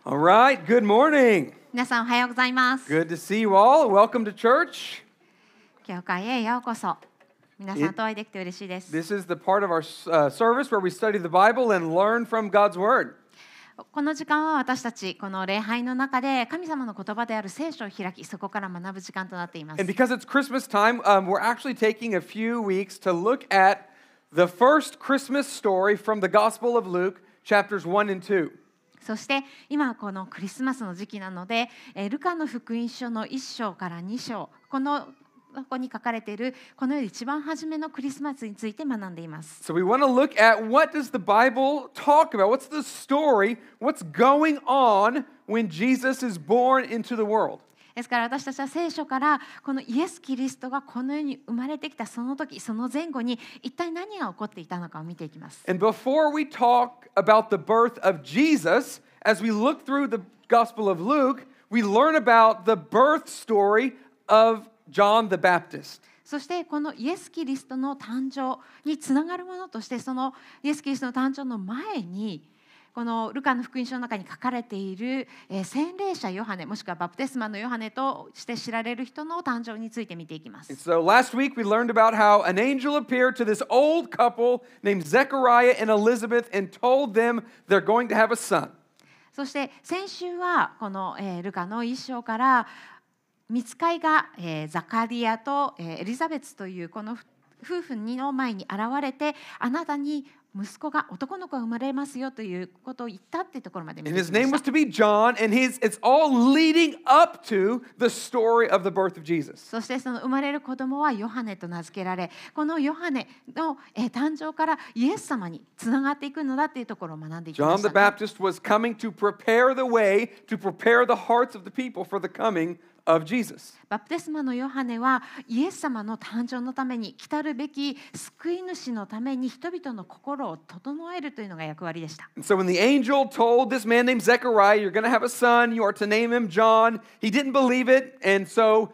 All right, good morning. 皆さんおはようございます。 Good to see you all. Welcome to church. 教会へようこそ。皆さんとお会いできて嬉しいです。 This is the part of our service where we study the Bible and learn from God's Word. この時間は私たちこの礼拝の中で神様の言葉である聖書を開き、そこから学ぶ時間となっています。 And because it's Christmas time, we're actually taking a few weeks to look at the first Christmas story from the Gospel of Luke, chapters 1 and 2. そして今このクリスマスの時期なので、ルカの福音書の1章から2章、ここに書かれているこの世で一番初めのクリスマスについて学んでいます。 So we want to look at what does the Bible talk about? What's the story? What's going on when Jesus is born into the world? ですから私たちは聖書からこのイエス・キリストがこの世に生まれてきたその時、その前後に一体何が起こっていたのかを見ていきます。 And before we talk about the birth of Jesus, as we look through the Gospel of Luke, we learn about the birth story of John the Baptist. そしてこのイエス・キリストの誕生につながるものとして、そのイエス・キリストの誕生の前にこのルカの福音書の中に書かれている洗礼者ヨハネ、もしくはバプテスマのヨハネとして知られる人の誕生について見ていきます。 So last week we learned about how an angel appeared to this old couple named Zechariah and Elizabeth and told them they're going to have a son. そして先週はこのルカの一章から御使いがザカリアとエリザベツというこの夫婦の前に現れて、あなたに息子が男の子が生まれますよということを言ったっていうところまで見 And て his きま name し was た。 to be John, and it's all leading up to the story of the birth of Jesus. そしてその生まれる子供はヨハネと名付けられ、このヨハネの誕生からイエス様につながっていくのだっていうところを学んでいきま John し the た。 Baptist was coming to prepare the way, to prepare the hearts of the people for the coming of Jesus. バプテスマのヨハネはイエス様の誕生のために、来たるべき救い主のために人々の心を整えるというのが役割でした。 And so when the angel told this man named Zechariah, you're going to have a son, you are to name him John, he didn't believe it. And so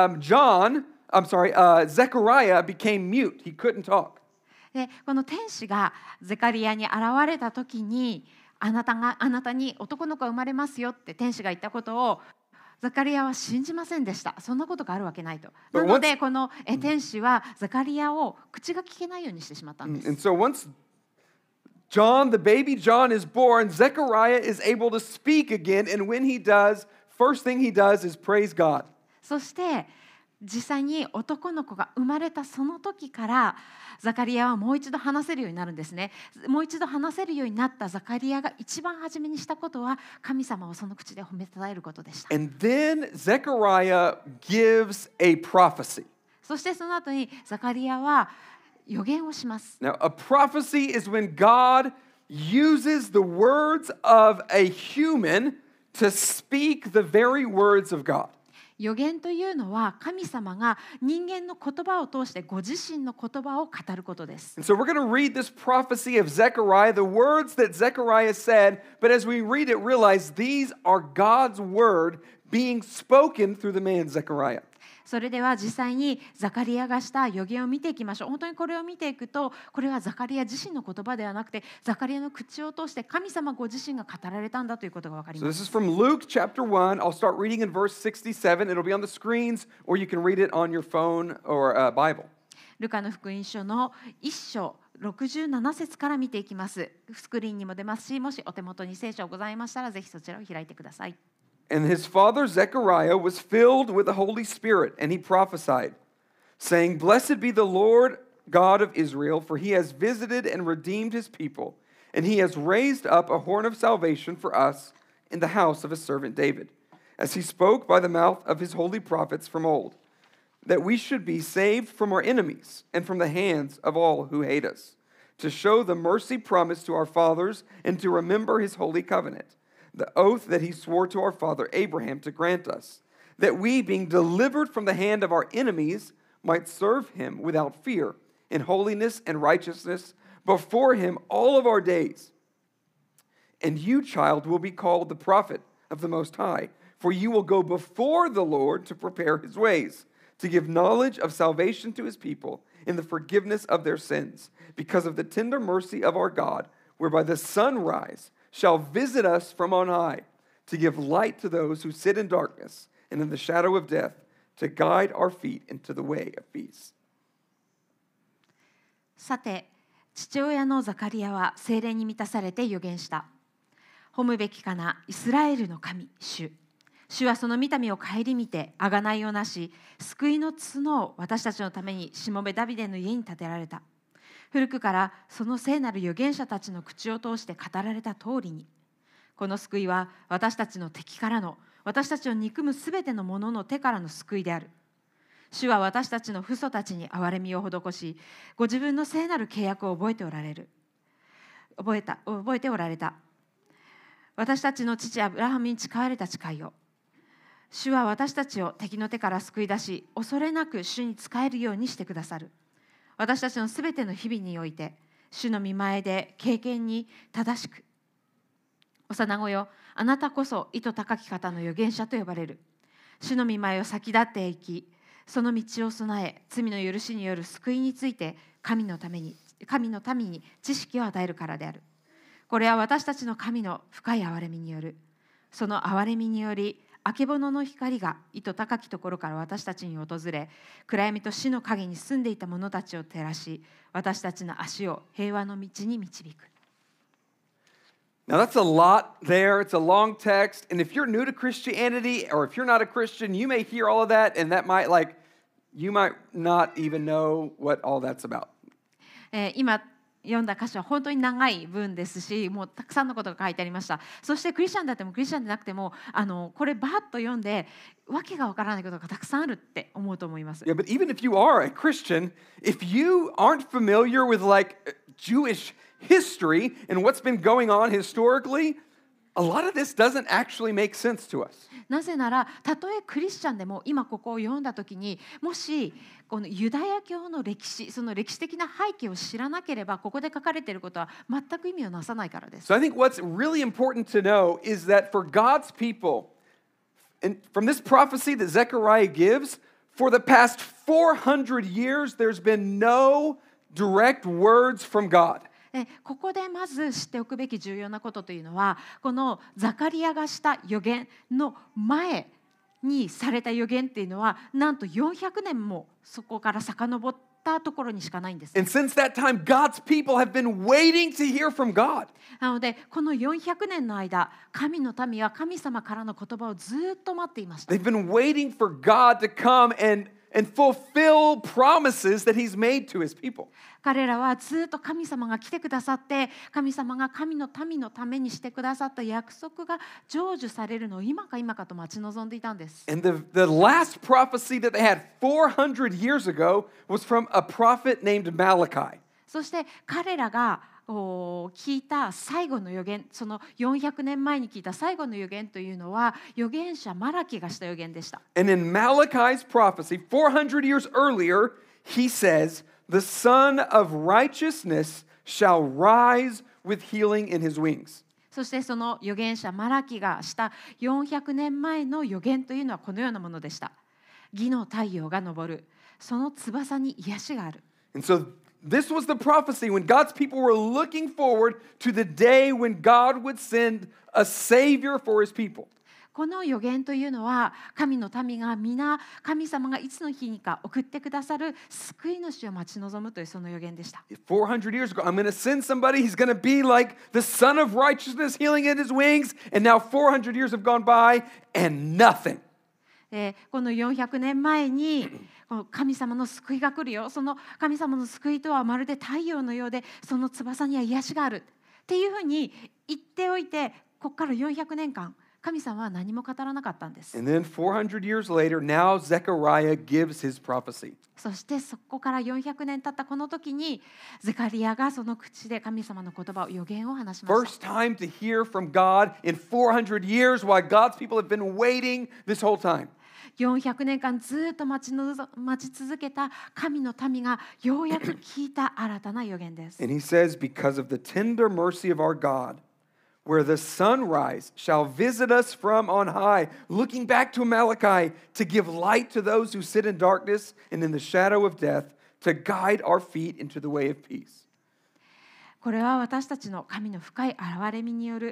Zechariah became mute. He couldn't talk. でこの天使がゼカリアに現れた時に、あなたに男の子が生まれますよって天使が言ったことをザカリアは信じませんでした。そんなことがあるわけないと。なのでこの天使はザカリアを口が聞けないようにしてしまったんです。 And so once the baby John is born, Zechariah is able to speak again. And when he does, first thing he does is praise God. そして実際に男の子が生まれたその時からザカリアはもう一度話せるようになるんですね。もう一度話せるようになったザカリアが一番初めにしたことは、神様をその口で褒めたたえることでした。 And then Zechariah gives a prophecy. そしてその後にザカリアは予言をします。 Now, a prophecy is when God uses the words of a human to speak the very words of God. 予言というのは神様が人間の言葉を通してご自身の言葉を語ることです。 And so we're going to read this prophecy of Zechariah, the words that Zechariah said, but as we read it, realize these are God's word being spoken through the man Zechariah. それでは実際にザカリアがした予言を見ていきましょう。本当にこれを見ていくと、これはザカリア自身の言葉ではなくて、ザカリアの口を通して神様ご自身が語られたんだということが分かり So ま this す。 is from Luke chapter 1. I'll start reading in verse 67. It'll be on the screens, or you can read it on your phone or Bible. ルカの福音書の1章67節から見ていきます。スクリーンにも出ますし、もしお手元に聖書がございましたら、ぜひそちらを開いてください。 And his father Zechariah was filled with the Holy Spirit, and he prophesied, saying, Blessed be the Lord God of Israel, for he has visited and redeemed his people, and he has raised up a horn of salvation for us in the house of his servant David, as he spoke by the mouth of his holy prophets from old, that we should be saved from our enemies and from the hands of all who hate us, to show the mercy promised to our fathers and to remember his holy covenant, the oath that he swore to our father Abraham to grant us, that we, being delivered from the hand of our enemies, might serve him without fear, in holiness and righteousness, before him all of our days. And you, child, will be called the prophet of the Most High, for you will go before the Lord to prepare his ways, to give knowledge of salvation to his people in the forgiveness of their sins, because of the tender mercy of our God, whereby the sunrise shall visit us from on high, to give light to those who sit in darkness and in the shadow of death, to guide our feet into the way of peace." さて、父親のザカリアは聖霊に満たされて預言した。褒むべきかな、イスラエルの神、主。主はその御民を顧みて、贖いをなし、救いの角を私たちのためにしもべダビデの家に建てられた。古くからその聖なる預言者たちの口を通して語られた通りに、この救いは私たちの敵からの、私たちを憎むすべてのものの手からの救いである。主は私たちの父祖たちに憐れみを施し、ご自分の聖なる契約を覚えておられた。私たちの父アブラハムに誓われた誓いを。主は私たちを敵の手から救い出し、恐れなく主に仕えるようにしてくださる。私たちのすべての日々において、主の御前で敬虔に正しく。幼子よ、あなたこそ意図高き方の預言者と呼ばれる。主の御前を先立っていき、その道を備え、罪の許しによる救いについて神の民に知識を与えるからである。これは私たちの神の深い憐れみによる。その憐れみにより、あけぼのの光が意図高きところから私たちに訪れ、暗闇と死の影に住んでいた者たちを照らし、私たちの足を平和の道に導く。 Now that's a lot there. It's a long text. And if you're new to Christianity or if you're not a Christian, you may hear all of that and that might you might not even know what all that's about. 今読んだ箇所は本当に長い文ですし、もうたくさんのことが書いてありました。そしてクリスチャンであってもクリスチャンでなくても、これバーッと読んでわけがわからないことがたくさんあるって思うと思います。 Yeah, but even if you are a Christian, if you aren't familiar with Jewish history and what's been going on historically, a lot of this doesn't actually make sense to us. なぜなら、たとえクリスチャンでも今ここを読んだときに、もしこのユダヤ教の歴史、その歴史的な背景を知らなければ、ここで書かれていることは全く意味をなさないからです。 So I think what's really important to know is that for God's people, and from this prophecy that Zechariah gives, for the past 400 years, there's been no direct words from God. ここでまず知っておくべき重要なことというのは、このザカリアがした預言の前にされた預言っていうのは、なんと400年もそこから遡ったところにしかないんです。 And since that time, God's people have been waiting to hear from God. なので、この400年の間、神の民は神様からの言葉をずっと待っていました。 They've been waiting for God to come and fulfill promises that He's made to His people. 彼らはずっと神様が来てくださって、神様が神の民のためにしてくださった約束が成就されるのを今か今かと待ち望んでいたんです。 And the last prophecy that they had 400 years ago was from a prophet named Malachi. そして彼らが聞いた最後の預言、その400年前に聞いた最後の預言というのは、預言者マラキがした預言でした。 And in Malachi's prophecy, 400 years earlier, he says, "The Son of Righteousness shall rise with healing in his wings." そしてその預言者マラキがした400年前の預言というのはこのようなものでした。義の太陽が昇る。その翼に癒しがある。 And so this was the prophecy when God's people were looking forward to the day when God would send a Savior for His people. この預言というのは、神の民が皆神様がいつの日にか送ってくださる救い主を待ち望むというその預言でした。 400 years ago, I'm going to send somebody. He's going to be like the Son of Righteousness, healing in his wings. And now 400 years have gone by and nothing. この400年前に神様の救いが来るよ。その神様の救いとはまるで太陽のようで、その翼には癒しがあるっていうふうに言っておいて、ここから400年間神様は何も語らなかったんです。 And then 400 years later, now Zechariah gives his prophecy. そしてそこから400年経ったこの時に、ゼカリアがその口で神様の言葉を預言を話しました。 First time to hear from God in 400 years, while God's people have been waiting this whole time. 400年間ずっと待ち続けた神の民がようやく聞いた新たな預言です。 And he says, "Because of the tender mercy of our God, where the sunrise shall visit us from on high," looking back to Malachi, to give light to those who sit in darkness and in the shadow of death, to guide our feet into the way of peace. これは私たちの神の深い憐れみによる、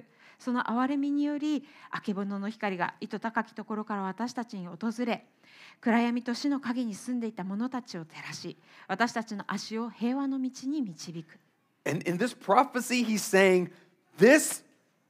その憐れみによりあけぼのの光が糸高きところから私たちに訪れ、暗闇と死の影に住んでいた者たちを照らし、私たちの足を平和の道に導く。 And in this prophecy, he's saying, this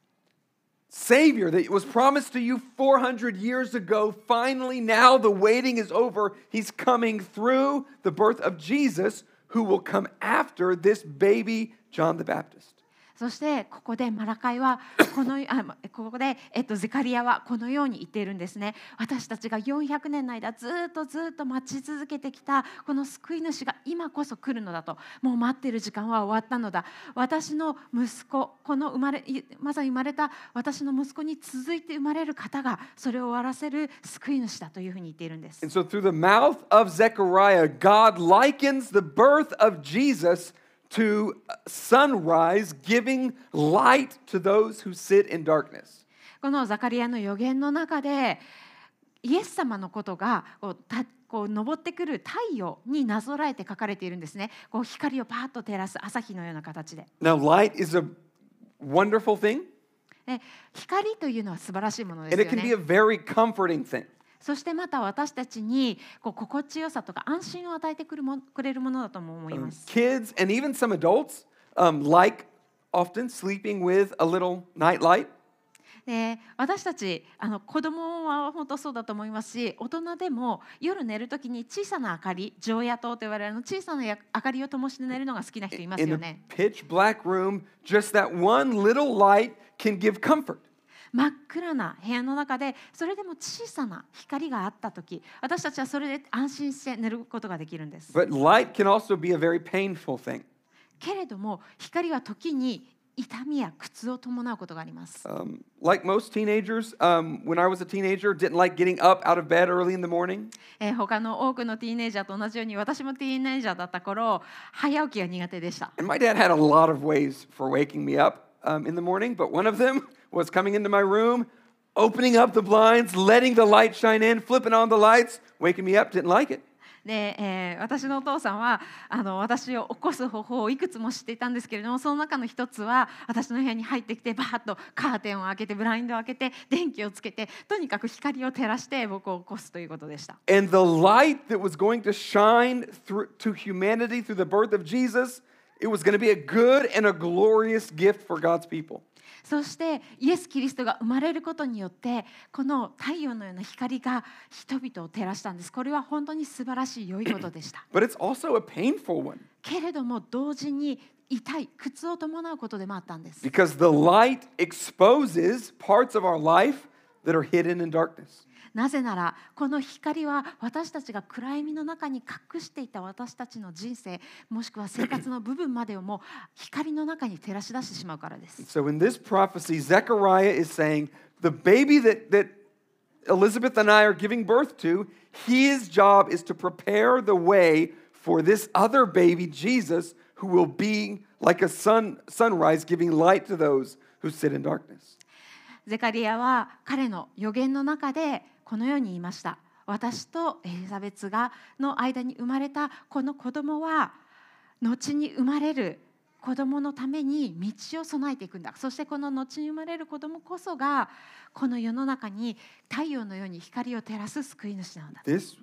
Savior that was promised to you 400 years ago, finally now the waiting is over. He's coming through the birth of Jesus, who will come after this baby John the Baptist. そしてここでマラカイはここで、ゼカリアはこのように言っているんですね。私たちが400年の間ずっと待ち続けてきたこの救い主が今こそ来るのだと。もう待っている時間は終わったのだ。私の息子、このまさに生まれた私の息子に続いて生まれる方がそれを終わらせる救い主だというふうに言っているんです。 And so through the mouth of Zechariah, God likens the birth of Jesus to sunrise, giving light to those who sit in darkness. このザカリアの預言の中でイエス様のことがこう昇ってくる太陽になぞらえて書かれているんですね。こう光をパーッと照らす朝日のような形で。 Now, light is a wonderful thing, 光というのは素晴らしいもので and す it よ can be ね。 a very comforting thing. そしてまた私たちに心地よさとか安心を与えてくれるものだとも思います。 Kids and even some adults like often sleeping with a little night light. で私たち子供は本当そうだと思いますし、大人でも夜寝るときに小さな明かり、常夜灯と言われる小さな明かりを灯して寝るのが好きな人います In よ a ね。 pitch black room, just that one little light can give comfort. 真っ暗な部屋の中でそれでも小さな光があったとき、私たちはそれで安心して寝ることができるんです。 But light can also be a very painful thing. けれども光は時に痛みや苦痛を伴うことがあります。 Like most teenagers, when I was a teenager, didn't like getting up out of bed early in the morning. 他の多くのティーネイジャーと同じように私もティーネイジャーだった頃、早起きが苦手でした。 And my dad had a lot of ways for waking me up in the morning, but one of them was coming into my room, opening up the blinds, letting the light shine in, flipping on the lights, waking me up, didn't like it. で私のお父さんは私を起こす方法をいくつも知っていたんですけれども、その中の一つは私の部屋に入ってきてバーッとカーテンを開けてブラインドを開けて電気をつけて、とにかく光を照らして僕を起こすということでした。 And the light that was going to shine through to humanity through the birth of Jesus, it was going to be a good and a glorious gift for God's people. そしてイエス・キリストが生まれることによってこの太陽のような光が人々を照らしたんです。これは本当に素晴らしい良いことでした。 But it's also a painful one けれども同時に痛い苦痛を伴うことでもあったんです。 because the light exposes parts of our life that are hidden in darkness. なぜならこの光は私たちが暗闇の中に隠していた私たちの人生もしくは生活の部分までをも光の中に照らし出してしまうからです。 So in this prophecy, Zechariah is saying the baby that Elizabeth and I are giving birth to, his job is to prepare the way for this other baby, Jesus, who will be like a sunrise giving light to those who sit in darkness. ゼカリアは彼の預言の中でこのように言いました。私とエリザベツの間に生まれたこの子供は後に生まれる子供のために道を備えていくんだ。そしてこの後に生まれる子供こそがこの世の中に太陽のように光を照らす救い主なのだ。 This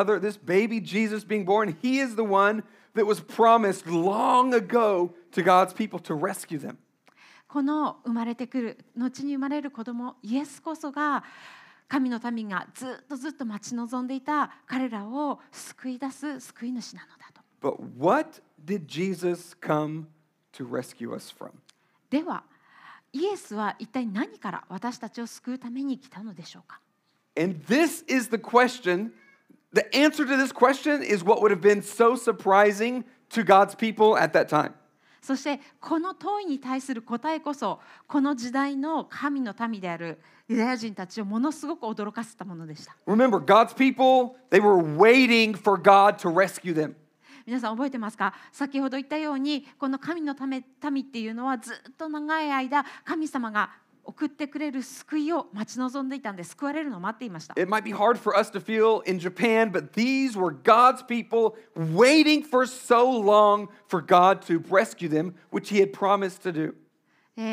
baby Jesus being born, he is the one that was promised long ago to God's people to rescue them. この生まれてくる後に生まれる子供イエスこそが神の民がずっと待ち望んでいた彼らを救い出す救い主なのだと。 But what did Jesus come to rescue us from? ではイエスは一体何から私たちを救うために来たのでしょうか。 And this is the question. The answer to this question is what would have been so surprising to God's people at that time. そしてこの問いに対する答えこそこの時代の神の民であるユダヤ人たちをものすごく驚かせたものでした。 Remember, God's people, they were waiting for God to rescue them. 皆さん覚えてますか？先ほど言ったようにこの神の民っていうのはずっと長い間神様が送ってくれる救いを待ち望んでいたんで、救われるのを待っていました。 It might be hard for us to feel in Japan, but these were God's people waiting for so long for God to rescue them, which He had promised to do.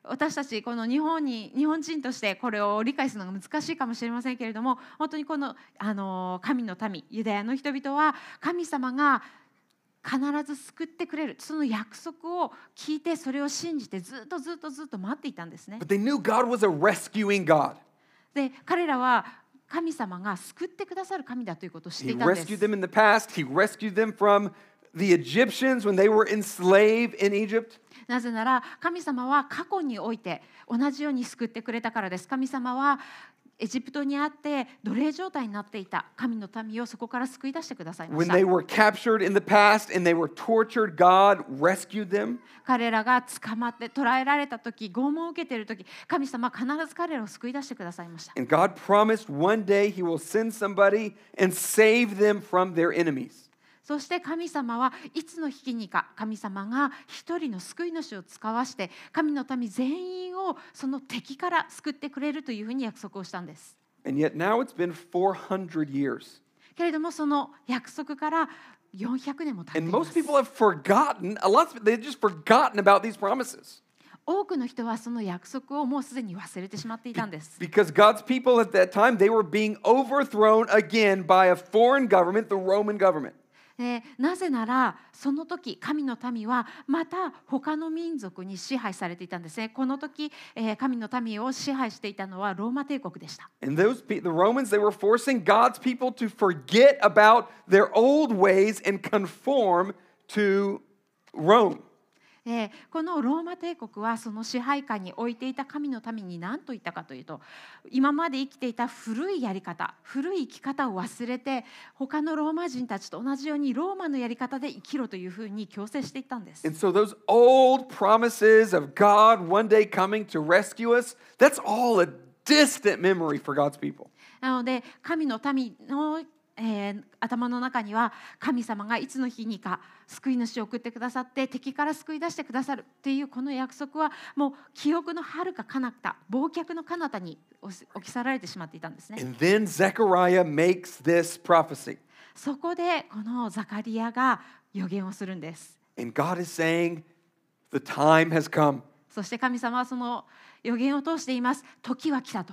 私たちこの日本人としてこれを理解するのが難しいかもしれませんけれども、本当にこの、神の民ユダヤの人々は神様が必ず救ってくれる、その約束を聞いてそれを信じてずっと待っていたんですね。 But they knew God was a rescuing God. で彼らは神様が救ってくださる神だということを知って He いたんです。 rescued them in the past. He rescued them from the Egyptians when they were enslaved in Egypt. なぜなら神様は過去において同じように救ってくれたからです。神様はエジプトにあって奴隷状態になっていた神の民をそこから救い出してくださいま When した。 they were captured in the past and they were tortured, God rescued them. 彼らが捕まって捕らえられた時、拷問を受けている時、神様は必ず彼らを救い出してくださいました。 And God promised one day He will send somebody and save them from their enemies. そして神様はいつの日にか神様が一人の救い主を使わして神の民全員をその敵から救ってくれるというふうに約束をしたんです。 And yet now it's been 400 years. けれどもその約束から400年も経ってい And ま most す。 people have forgotten, a lot of they've just forgotten about these promises. 多くの人はその約束をもうすでに忘れてしまっていたんです。 Because God's people at that time, they were being overthrown again by a foreign government, the Roman government. なぜならその時神の民はまた他の民族に支配されていたんですね。この時、神の民を支配していたのはローマ帝国でした。 And the Romans, they were forcing God's people to forget about their old ways and conform to Rome. このローマ帝国はその支配下に置いていた神の民に何と言ったかというと、今まで生きていた古いやり方、古い生き方を忘れて他のローマ人たちと同じようにローマのやり方で生きろというふうに強制していったんです。 And so those old promises of God one day coming to rescue us, that's all a distant memory for God's people. なので神の民の頭の中には神様がいつの日にか救い主を送ってくださって敵から救い出してくださるっていうこの約束はもう記憶の遥か彼方、忘却の彼方に置き去られてしまっていたんですね。 And then Zechariah makes this prophecy. そこでこのザカリアが予言をするんです。 And God is saying, the time has come. そして神様はその予言を通しています。時は来たと。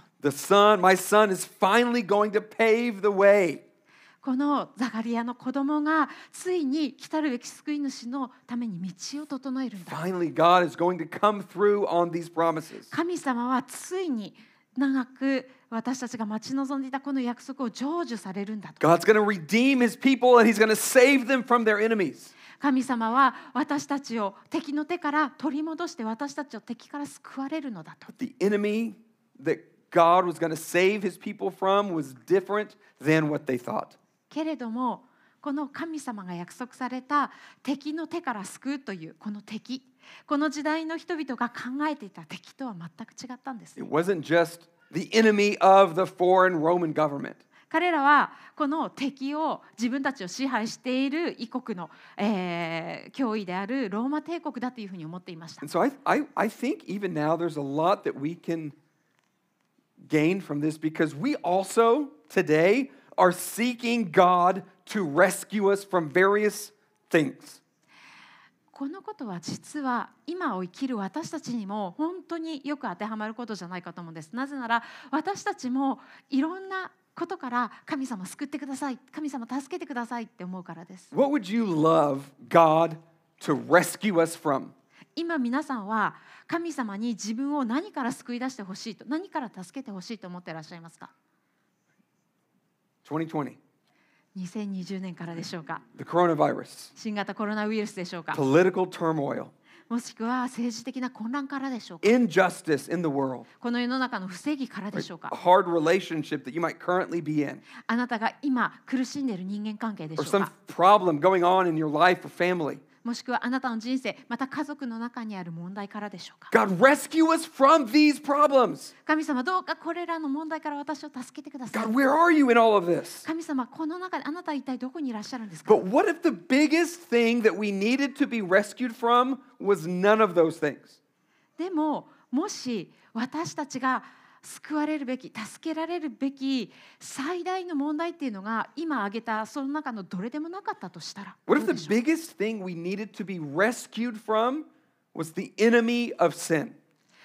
My son is finally going to pave the way. このザカリアの子供がついに来たるべき救い主のために道を整えるんだ。 Finally, God is going to come through on these promises. 神様はついに長く私たちが待ち望んでいたこの約束を成就されるんだと。 God's going to redeem his people and he's going to save them from their enemies. 神様は私たちを敵の手から取り戻して私たちを敵から救われるのだと。 The enemy that God was going to save his people from was different than what they thought. けれどもこの神様が約束された敵の手から救うというこの敵、この時代の人々が考えていた敵とは全く違ったんです。 It wasn't just the enemy of the foreign Roman government. 彼らはこの敵を自分たちを支配している異国の、脅威であるローマ帝国だというふうに思っていました。 And so I think even now there's a lot that we can gain from this because we also today are seeking God to rescue us from various things. このことは実は今を生きる私たちにも本当によく当てはまることじゃないかと思うんです。なぜなら私たちもいろんなことから神様救ってください、神様助けてくださいって思うからです。 What would you love God to rescue us from? 今皆さんは神様に自分を何から救い出してほしいと、何から助けてほしいと思っていらっしゃいますか 2020, ？2020年からでしょうか、 the coronavirus, 新型コロナウイルスでしょうか、 political turmoil, もしくは政治的な混乱からでしょうか、 injustice in the world, この世の中の不正義からで a しょうか、 hard relationship that you might currently be in, あなたが今苦しんでいる人間関係でしょ or う some か、 problem going on in your life or family. もしくはあなたの人生、また家族の中にある問題からでしょうか。 God, rescue us from these problems. 神様どうかこれらの問題から私を助けてください。 God, where are you in all of this? 神様この中であなたは一体どこにいらっしゃるんですか。 But what if the biggest thing that we needed to be rescued from was none of those things? でももし私たちが救われるべき、助けられるべき最大の問題っていうのが今挙げたその中のどれでもなかったとしたら、 What if どう the でしょう。 biggest thing we needed to be rescued from was the enemy of sin?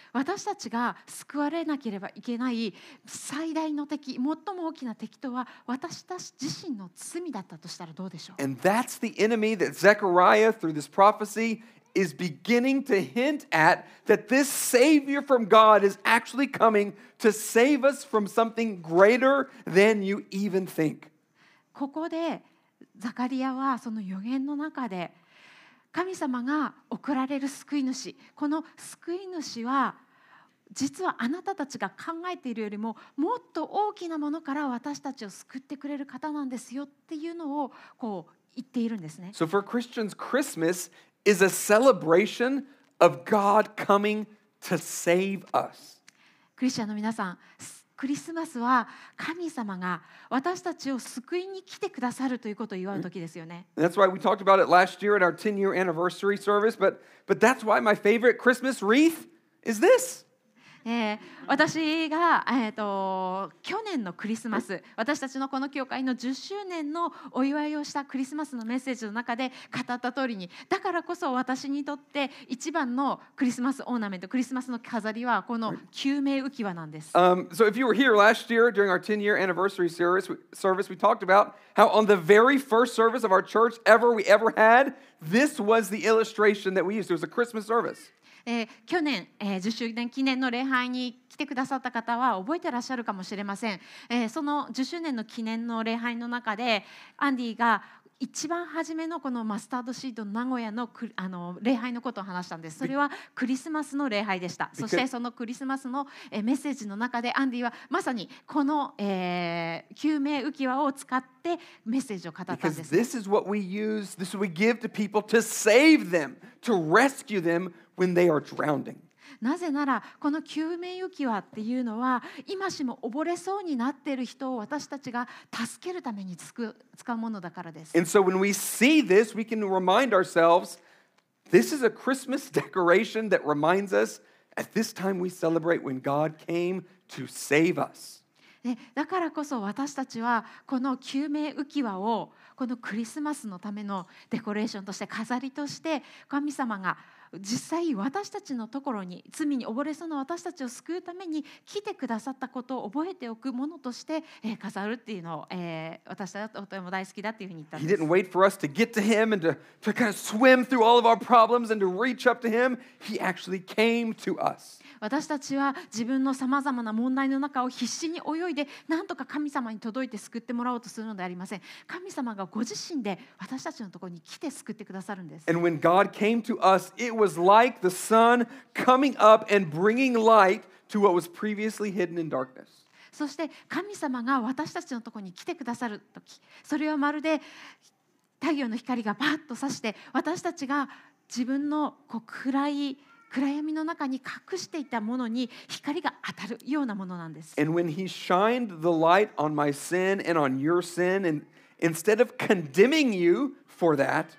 私たちが救われなければいけない最大の敵、最も大きな敵とは私たち自身の罪だったとしたらどうでしょう。 And that's the enemy that Zechariah, through this prophecy, is beginning to hint at, that this Savior from God is actually coming to save us from something greater than you even think. ここでザカリアはその預言の中で神様が送られる救い主、この救い主は実はあなたたちが考えているよりももっと大きなものから私たちを救ってくれる方なんですよっていうのをこう言っているんですね。 So for Christians, Christmas is a celebration of God coming to save us. クリスチャンの皆さん、クリスマスは神様が私たちを救いに来てくださるということを祝う時ですよね。 And that's why we talked about it last year at our 10-year anniversary service, but that's why my favorite Christmas wreath is this. 私が、去年のクリスマス、私たちのこの教会の10周年のお祝いをしたクリスマスのメッセージの中で語った通りに、だからこそ私にとって一番のクリスマスオーナメント、クリスマスの飾りはこの救命浮き輪なんです。 So if you were here last year during our 10-year anniversary service, we talked about how on the very first service of our church we ever had, this was the illustration that we used. It was a Christmas service. 去年、10周年記念の礼拝に来てくださった方は覚えてらっしゃるかもしれません。その10周年の記念の礼拝の中でアンディが一番初めのこのマスタードシート名古屋の礼拝のことを話したんです。それはクリスマスの礼拝でした。そしてそのクリスマスのメッセージの中でアンディはまさにこの救命浮き輪を使ってメッセージを語ったんです。 Because this is what we use, this is what we give to people to save them, to rescue them when they are drowning. なぜならこの救命浮き輪っていうのは今しも溺れそうになっている人を私たちが助けるために使うものだからです。 And so when we see this, we can remind ourselves, this is a Christmas decoration that reminds us at this time we celebrate when God came to save us. だからこそ私たちはこの救命浮き輪をこのクリスマスのためのデコレーションとして飾りとして神様が実際私たちのところに罪に溺れそうな私たちを救うために来てくださったことを覚えておくものとして飾るっていうのを私たちはとても大好きだっていうふうに言ったんです。 He didn't wait for us to get to him and to kind of swim through all of our problems and to reach up to him. He actually came to us. 私たちは自分のさまざまな問題の中を必死に泳いでなんとか神様に届いて救ってもらおうとするのではありません。神様がご自身で私たちのところに来て救ってくださるんです。 And when God came to us, it was like the sun coming up and bringing light to what was previously hidden in darkness. そして神様が私たちのところに来てくださるとき、それはまるで太陽の光がバッと差して私たちが自分の暗闇の中に隠していたものに光が当たるようなものなんです。 And when he shined the light on my sin and on your sin, and instead of condemning you for that,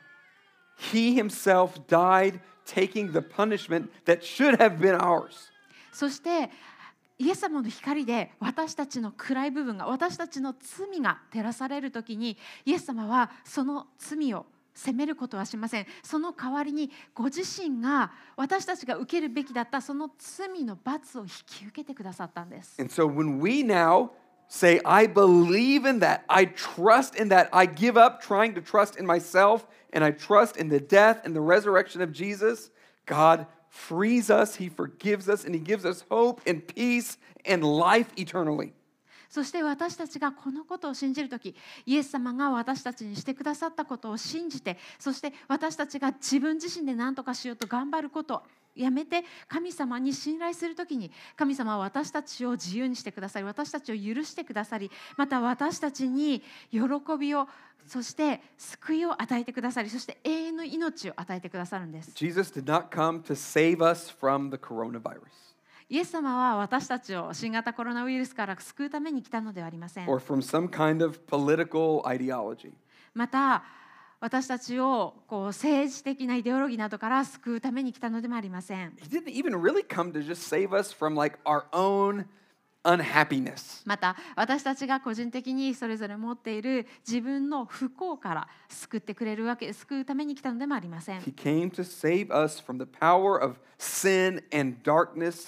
he himself died, taking the punishment that should have been ours. そしてイエス様の光で私たちの暗い部分が、私たちの罪が照らされるときに、イエス様はその罪を責めることはしません。その代わりにご自身が私たちが受けるべきだったその罪の罰を引き受けてくださったんです。 And so when we now say, I believe in that, I trust in that, I give up trying to trust in myself, and I trust in the death and the resurrection of Jesus, God frees us, He forgives us, and He gives us hope and peace and life eternally. そして私たちがこのことを信じるとき、イエス様が私たちにしてくださったことを信じて、そして私たちが自分自身で何とかしようと頑張ることをやめて神様に信頼するときに、神様は私たちを自由にしてくださり、私たちを許してくださり、また私たちに喜びを、そして救いを与えてくださり、そして永遠の命を与えてくださるんです。 Jesus did not come to save us from the coronavirus. イエス様は私たちを新型コロナウイルスから救うために来たのではありません。 Or from some kind of political ideology. また私たちを政治的なイデオロギーなどから救うために来たのでもありません。 He didn't even really come to just save us from like our own unhappiness. また私たちが個人的にそれぞれ持っている自分の不幸から救ってくれるわけ、救うために来たのでもありません。 He came to save us from the power of sin and darkness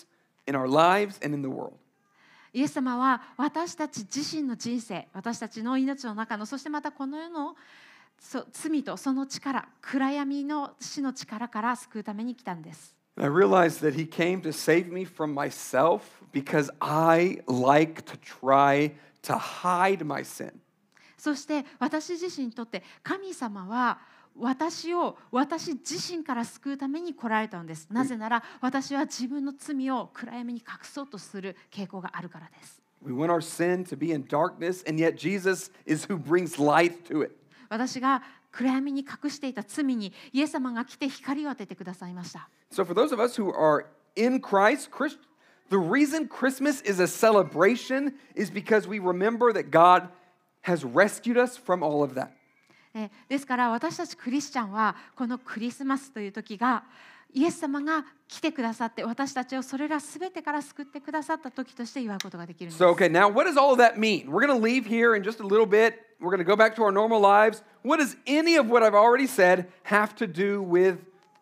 in our lives and in the world. イエス様は私たち自身の人生、私たちの命の中の、そしてまたこの世の罪とその力、暗闇の死の力から救うために来たんです。 And I realized that he came to save me from myself because I like to try to hide my sin. そして私自身にとって神様は私自身から救うために来られたのです。なぜなら私は自分の罪を暗闇に隠そうとする傾向があるからです。 We want our sin to be in darkness, and yet Jesus is who brings light to it. 私が暗闇に隠していた罪にイエス様が来て光を当ててくださいました。 So for those of us who are in Christ, the reason Christmas is a celebration is because we remember that God has rescued us from all of that. ですから私たちクリスチャンはこのクリスマスという時がイエス様が来てくださって私たちをそれらすべてから救ってくださった時として祝うことができるんです。 So, okay, now what does all of that mean? We're going to leave here in just a little bit. We're going to go back to our normal lives. What does any of what I've already said have to do with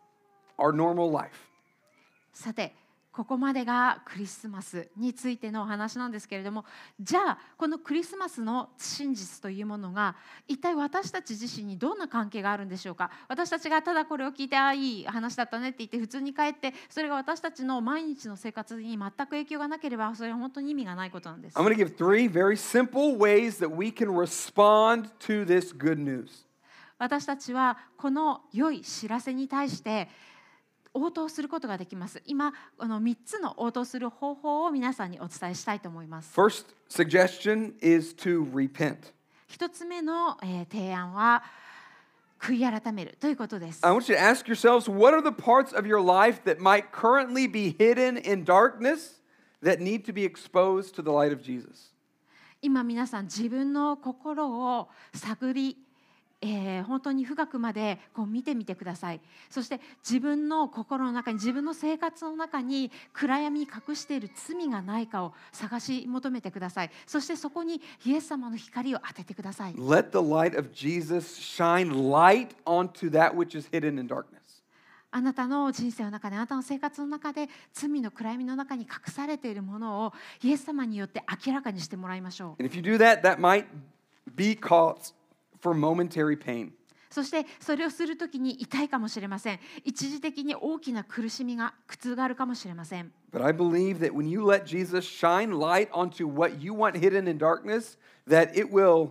our normal life? さて、ここまでがクリスマスについてのお話なんですけれども、じゃあこのクリスマスの真実というものが一体私たち自身にどんな関係があるんでしょうか。私たちがただこれを聞いていい話だったねって言って普通に帰ってそれが私たちの毎日の生活に全く影響がなければそれは本当に意味がないことなんです。 I'm going to give 3 very simple ways that we can respond to this good news. 私たちはこの良い知らせに対して応答することができます。今、3つの応答する方法を皆さんにお伝えしたいと思います。 First suggestion is to repent. 1つ目の、提案は悔い改めるということです。 I want you to ask yourselves, what are the parts of your life that might currently be hidden in darkness that need to be exposed to the light of Jesus? 今皆さん自分の心を探り本当に深くまでこう見てみてください。そして自分の心の中に自分の生活の中に暗闇に隠している罪がないかを探し求めてください。そしてそこにイエス様の光を当ててください。 Let the light of Jesus shine light onto that which is hidden in darkness. あなたの人生の中であなたの生活の中で罪の暗闇の中に隠されているものをイエス様によって明らかにしてもらいましょう。 And if you do that, that might be cause for momentary pain. そしてそれをするときに痛いかもしれません。一時的に大きな苦しみが苦痛があるかもしれません。 But I believe that when you let Jesus shine light onto what you want hidden in darkness, that he will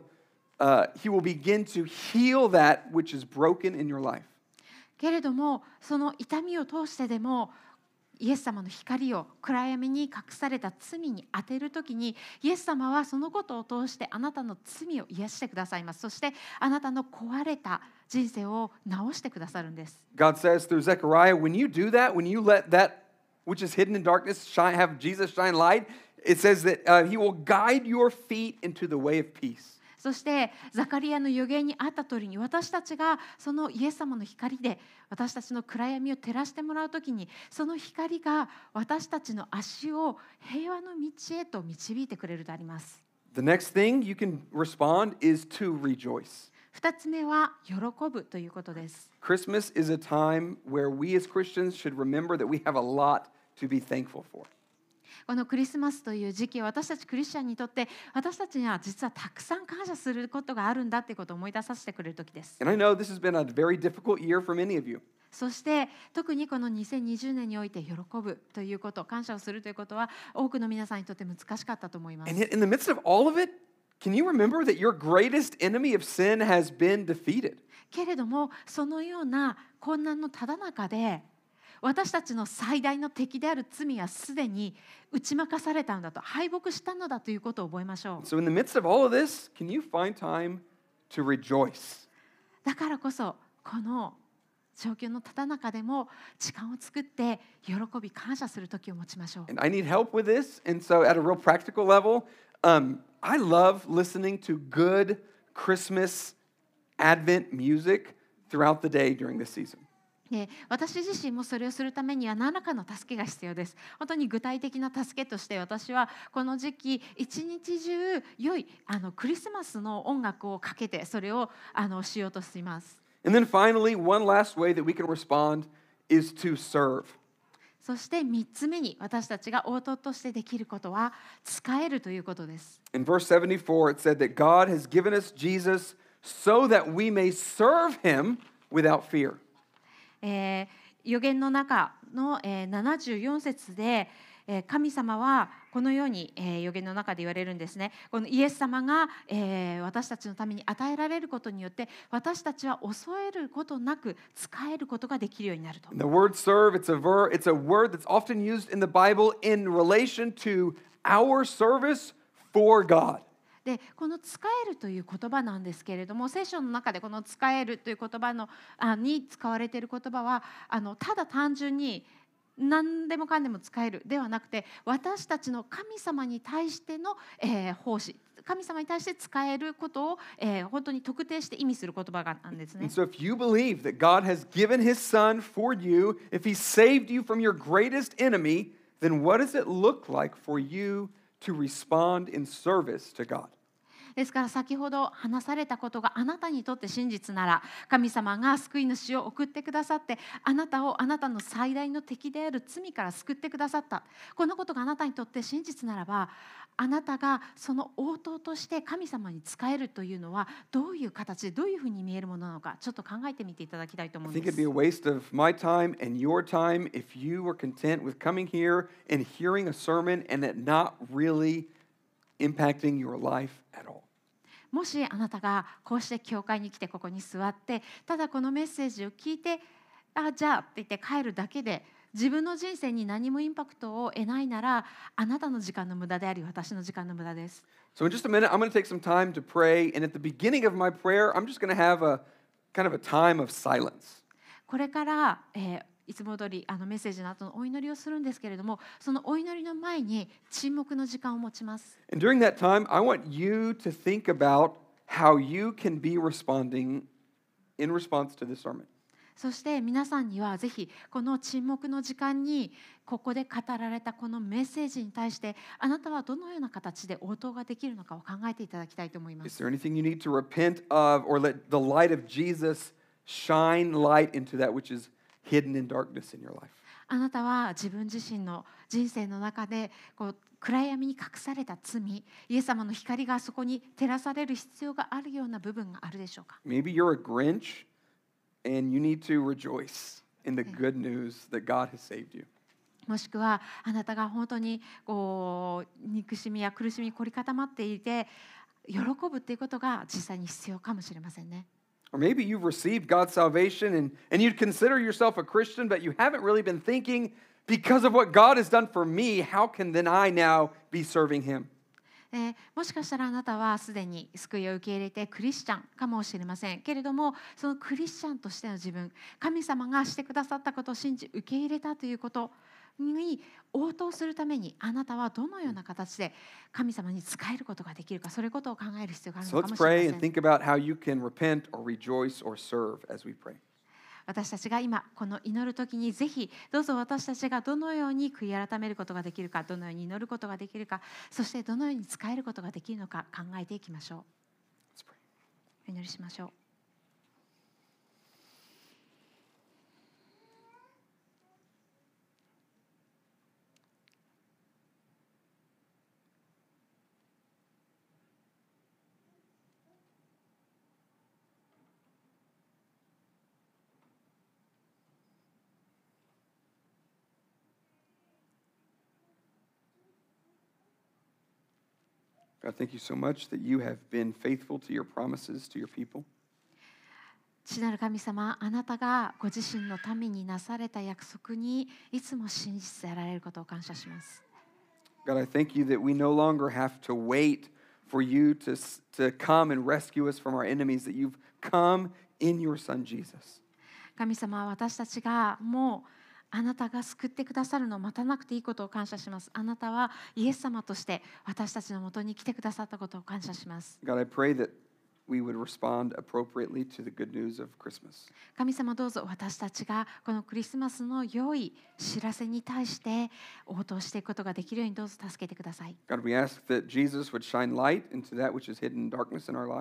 begin to heal that which is broken in your life. けれどもその痛みを通してでもイエス様の光を暗闇に隠された罪に当てるときにイエス様はそのことを通してあなたの罪を癒してくださいます。そしてあなたの壊れた人生を直してくださるんです。 God says through Zechariah, when you do that, when you let that which is hidden in darkness have Jesus shine light, it says that he will guide your feet into the way of peace. そしてザカリアの預言にあった通りに私たちがそのイエス様の光で私たちの暗闇を照らしてもらうときにその光が私たちの足を平和の道へと導いてくれるとあります。 The next thing you can respond is to rejoice. 2つ目は喜ぶということです。 Christmas is a time where we as Christians should remember that we have a lot to be thankful for. このクリスマスという時期は私たちクリスチャンにとって私たちには実はたくさん感謝することがあるんだということを思い出させてくれる時です。 And I know this has been a very difficult year for many of you. そして特にこの2020年において喜ぶということ、感謝をするということは多くの皆さんにとって難しかったと思います。 And yet in the midst of all of it, can you remember that your greatest enemy of sin has been defeated? けれどもそのような困難のただ中で私たちの最大の敵である罪はすでに打ち負かされたのだと、敗北したのだということを覚えましょう。 So in the midst of all of this, can you find time to rejoice? だからこそこの状況のただ中でも時間を作って喜び感謝する時を持ちましょう。 And I need help with this. And so at a real practical level, I love listening to good Christmas Advent music throughout the day during this season. 私自身もそれをするためには何らかの助けが必要です。本当に具体的な助けとして私はこの時期一日中良いクリスマスの音楽をかけてそれをしようとしています。 And then finally, one last way that we can respond is to serve. そして3つ目に私たちが応答としてできることは使えるということです。 In verse 74, it said that God has given us Jesus so that we may serve him without fear. 預言の中の、74節で、神様はこのように、預言の中で言われるんですね。このイエス様が、私たちのために与えられることによって私たちは恐れることなく使えることができるようになると。 And the word serve, it's a word that's often used in the Bible in relation to our service for God. でこの使えるという言葉なんですけれども、聖書の中でこの使えるという言葉に使われている言葉はただ単純に何でもかんでも使えるではなくて、私たちの神様に対しての、奉仕、神様に対して使えることを、本当に特定して意味する言葉なんですね。 And so if you believe that God has given his son for you, if he saved you from your greatest enemy, then what does it look like for you to respond in service to God? ですから先ほど話されたことがあなたにとって真実なら、神様が救い主を送ってくださって、あなたをあなたの最大の敵である罪から救ってくださった。このことがあなたにとって真実ならば、あなたがその応答として神様に仕えるというのはどういう形でどういうふうに見えるものなのか、ちょっと考えてみていただきたいと思 I うん think で it'd be す。 a waste of my time and your time if you were content with coming here and hearing a sermon and it not really impacting your life at all. もしあなたがこうして教会に来てここに座ってただこのメッセージを聞いてじゃあって言って帰るだけで自分の人生に何もインパクトを得ないなら、あなたの時間の無駄であり私の時間の無駄です。 So in just a minute, I'm going to take some time to pray. And at the beginning of my prayer, I'm just going to have a kind of a time of silence. これから、いつも通りメッセージの後のお祈りをするんですけれども、そのお祈りの前に沈黙の時間を持ちます。 And during that time, I want you to think about how you can be responding in response to this sermon. そして皆さんにはぜひこの沈黙の時間にここで語られたこのメッセージに対してあなたはどのような形で応答ができるのかを考えていただきたいと思いま Is す。 there anything you need to repent of or let the light of Jesus shine light into that which is hidden in darkness in your life? あなたは自分自身の人生の中で暗闇に隠された罪、イエス様の光がそこに照らされる必要があるような部分があるでしょうか。 Maybe you're a Grinch and you need to rejoice in the good news that God has saved you. もしくはあなたが本当に憎しみや苦しみに凝り固まっていて喜ぶっていうことが実際に必要かもしれませんね。 Or maybe you've received God's salvation and you'd consider yourself a Christian, but you haven't really been thinking, because of what God has done for me, how can then I now be serving him? もしかしたらあなたはすでに救いを受け入れてクリスチャンかもしれませんけれども、そのクリスチャンとしての自分、神様がしてくださったことを信じ受け入れたということに応答するためにあなたはどのような形で神様に仕えることができるか、そういうことを考える必要がある So のか let's もしれ pray ま and せん。 think about how you can repent or rejoice or serve as we pray. 私たちが今この祈る時にぜひどうぞ私たちがどのように悔い改めることができるか、どのように祈ることができるか、そしてどのように仕えることができるのか考えていきましょ Let's pray. う。お祈りしましょう。 God, thank you so much that you have been faithful to your promises to your people. 父なる神様、あなたがご自身のためになされた約束にいつも真実であられることを感謝します。 God, I thank you that we no longer have to wait for you to come and rescue us from our enemies, that you've come in your son Jesus. 神様は私たちがもうあなたが救ってくださるのを待たなくていいことを感謝します。あなたはイエス様として私たちのもとに来てくださったことを感謝します。 God, I pray that we would respond appropriately to the good news of Christmas. 神様どうぞ私たちがこのクリスマスの良い知らせに対して応答していくことができるようにどうぞ助けてください。 God, we ask that Jesus would shine light into that which is hidden in darkness in our life.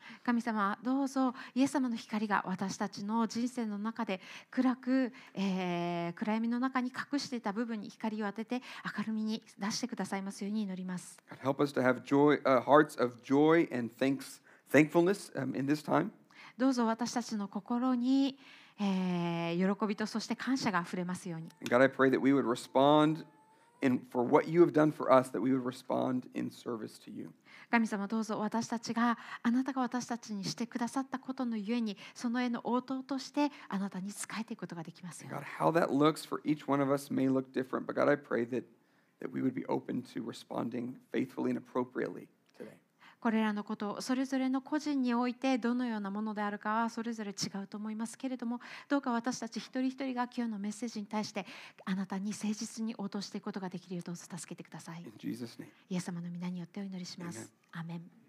神様どうぞイエス様の光が私たちの人生の中で暗く、暗闇の中に隠していた部分に光を当てて明るみに出してくださいますように祈ります。 God, help us to have joy, hearts of joy and thankfulness in this time. どうぞ私たちの心に、喜びとそして感謝があふれますように。 And God, I pray that we would respond for what you have done for us, that we would respond in service to you. 神様どうぞ私たちがあなたが私たちにしてくださったことのゆえにその絵の応答としてあなたに仕えていくことができますよう God, に。 how that looks for each one of us may look different, but God, I pray that we would be open to responding faithfully and appropriately today. これらのことをそれぞれの個人においてどのようなものであるかはそれぞれ違うと思いますけれども、どうか私たち一人一人が今日のメッセージに対してあなたに誠実に応答していくことができるようどうぞ助けてください。 In Jesus' name. イエス様の皆によってお祈りします。アーメン。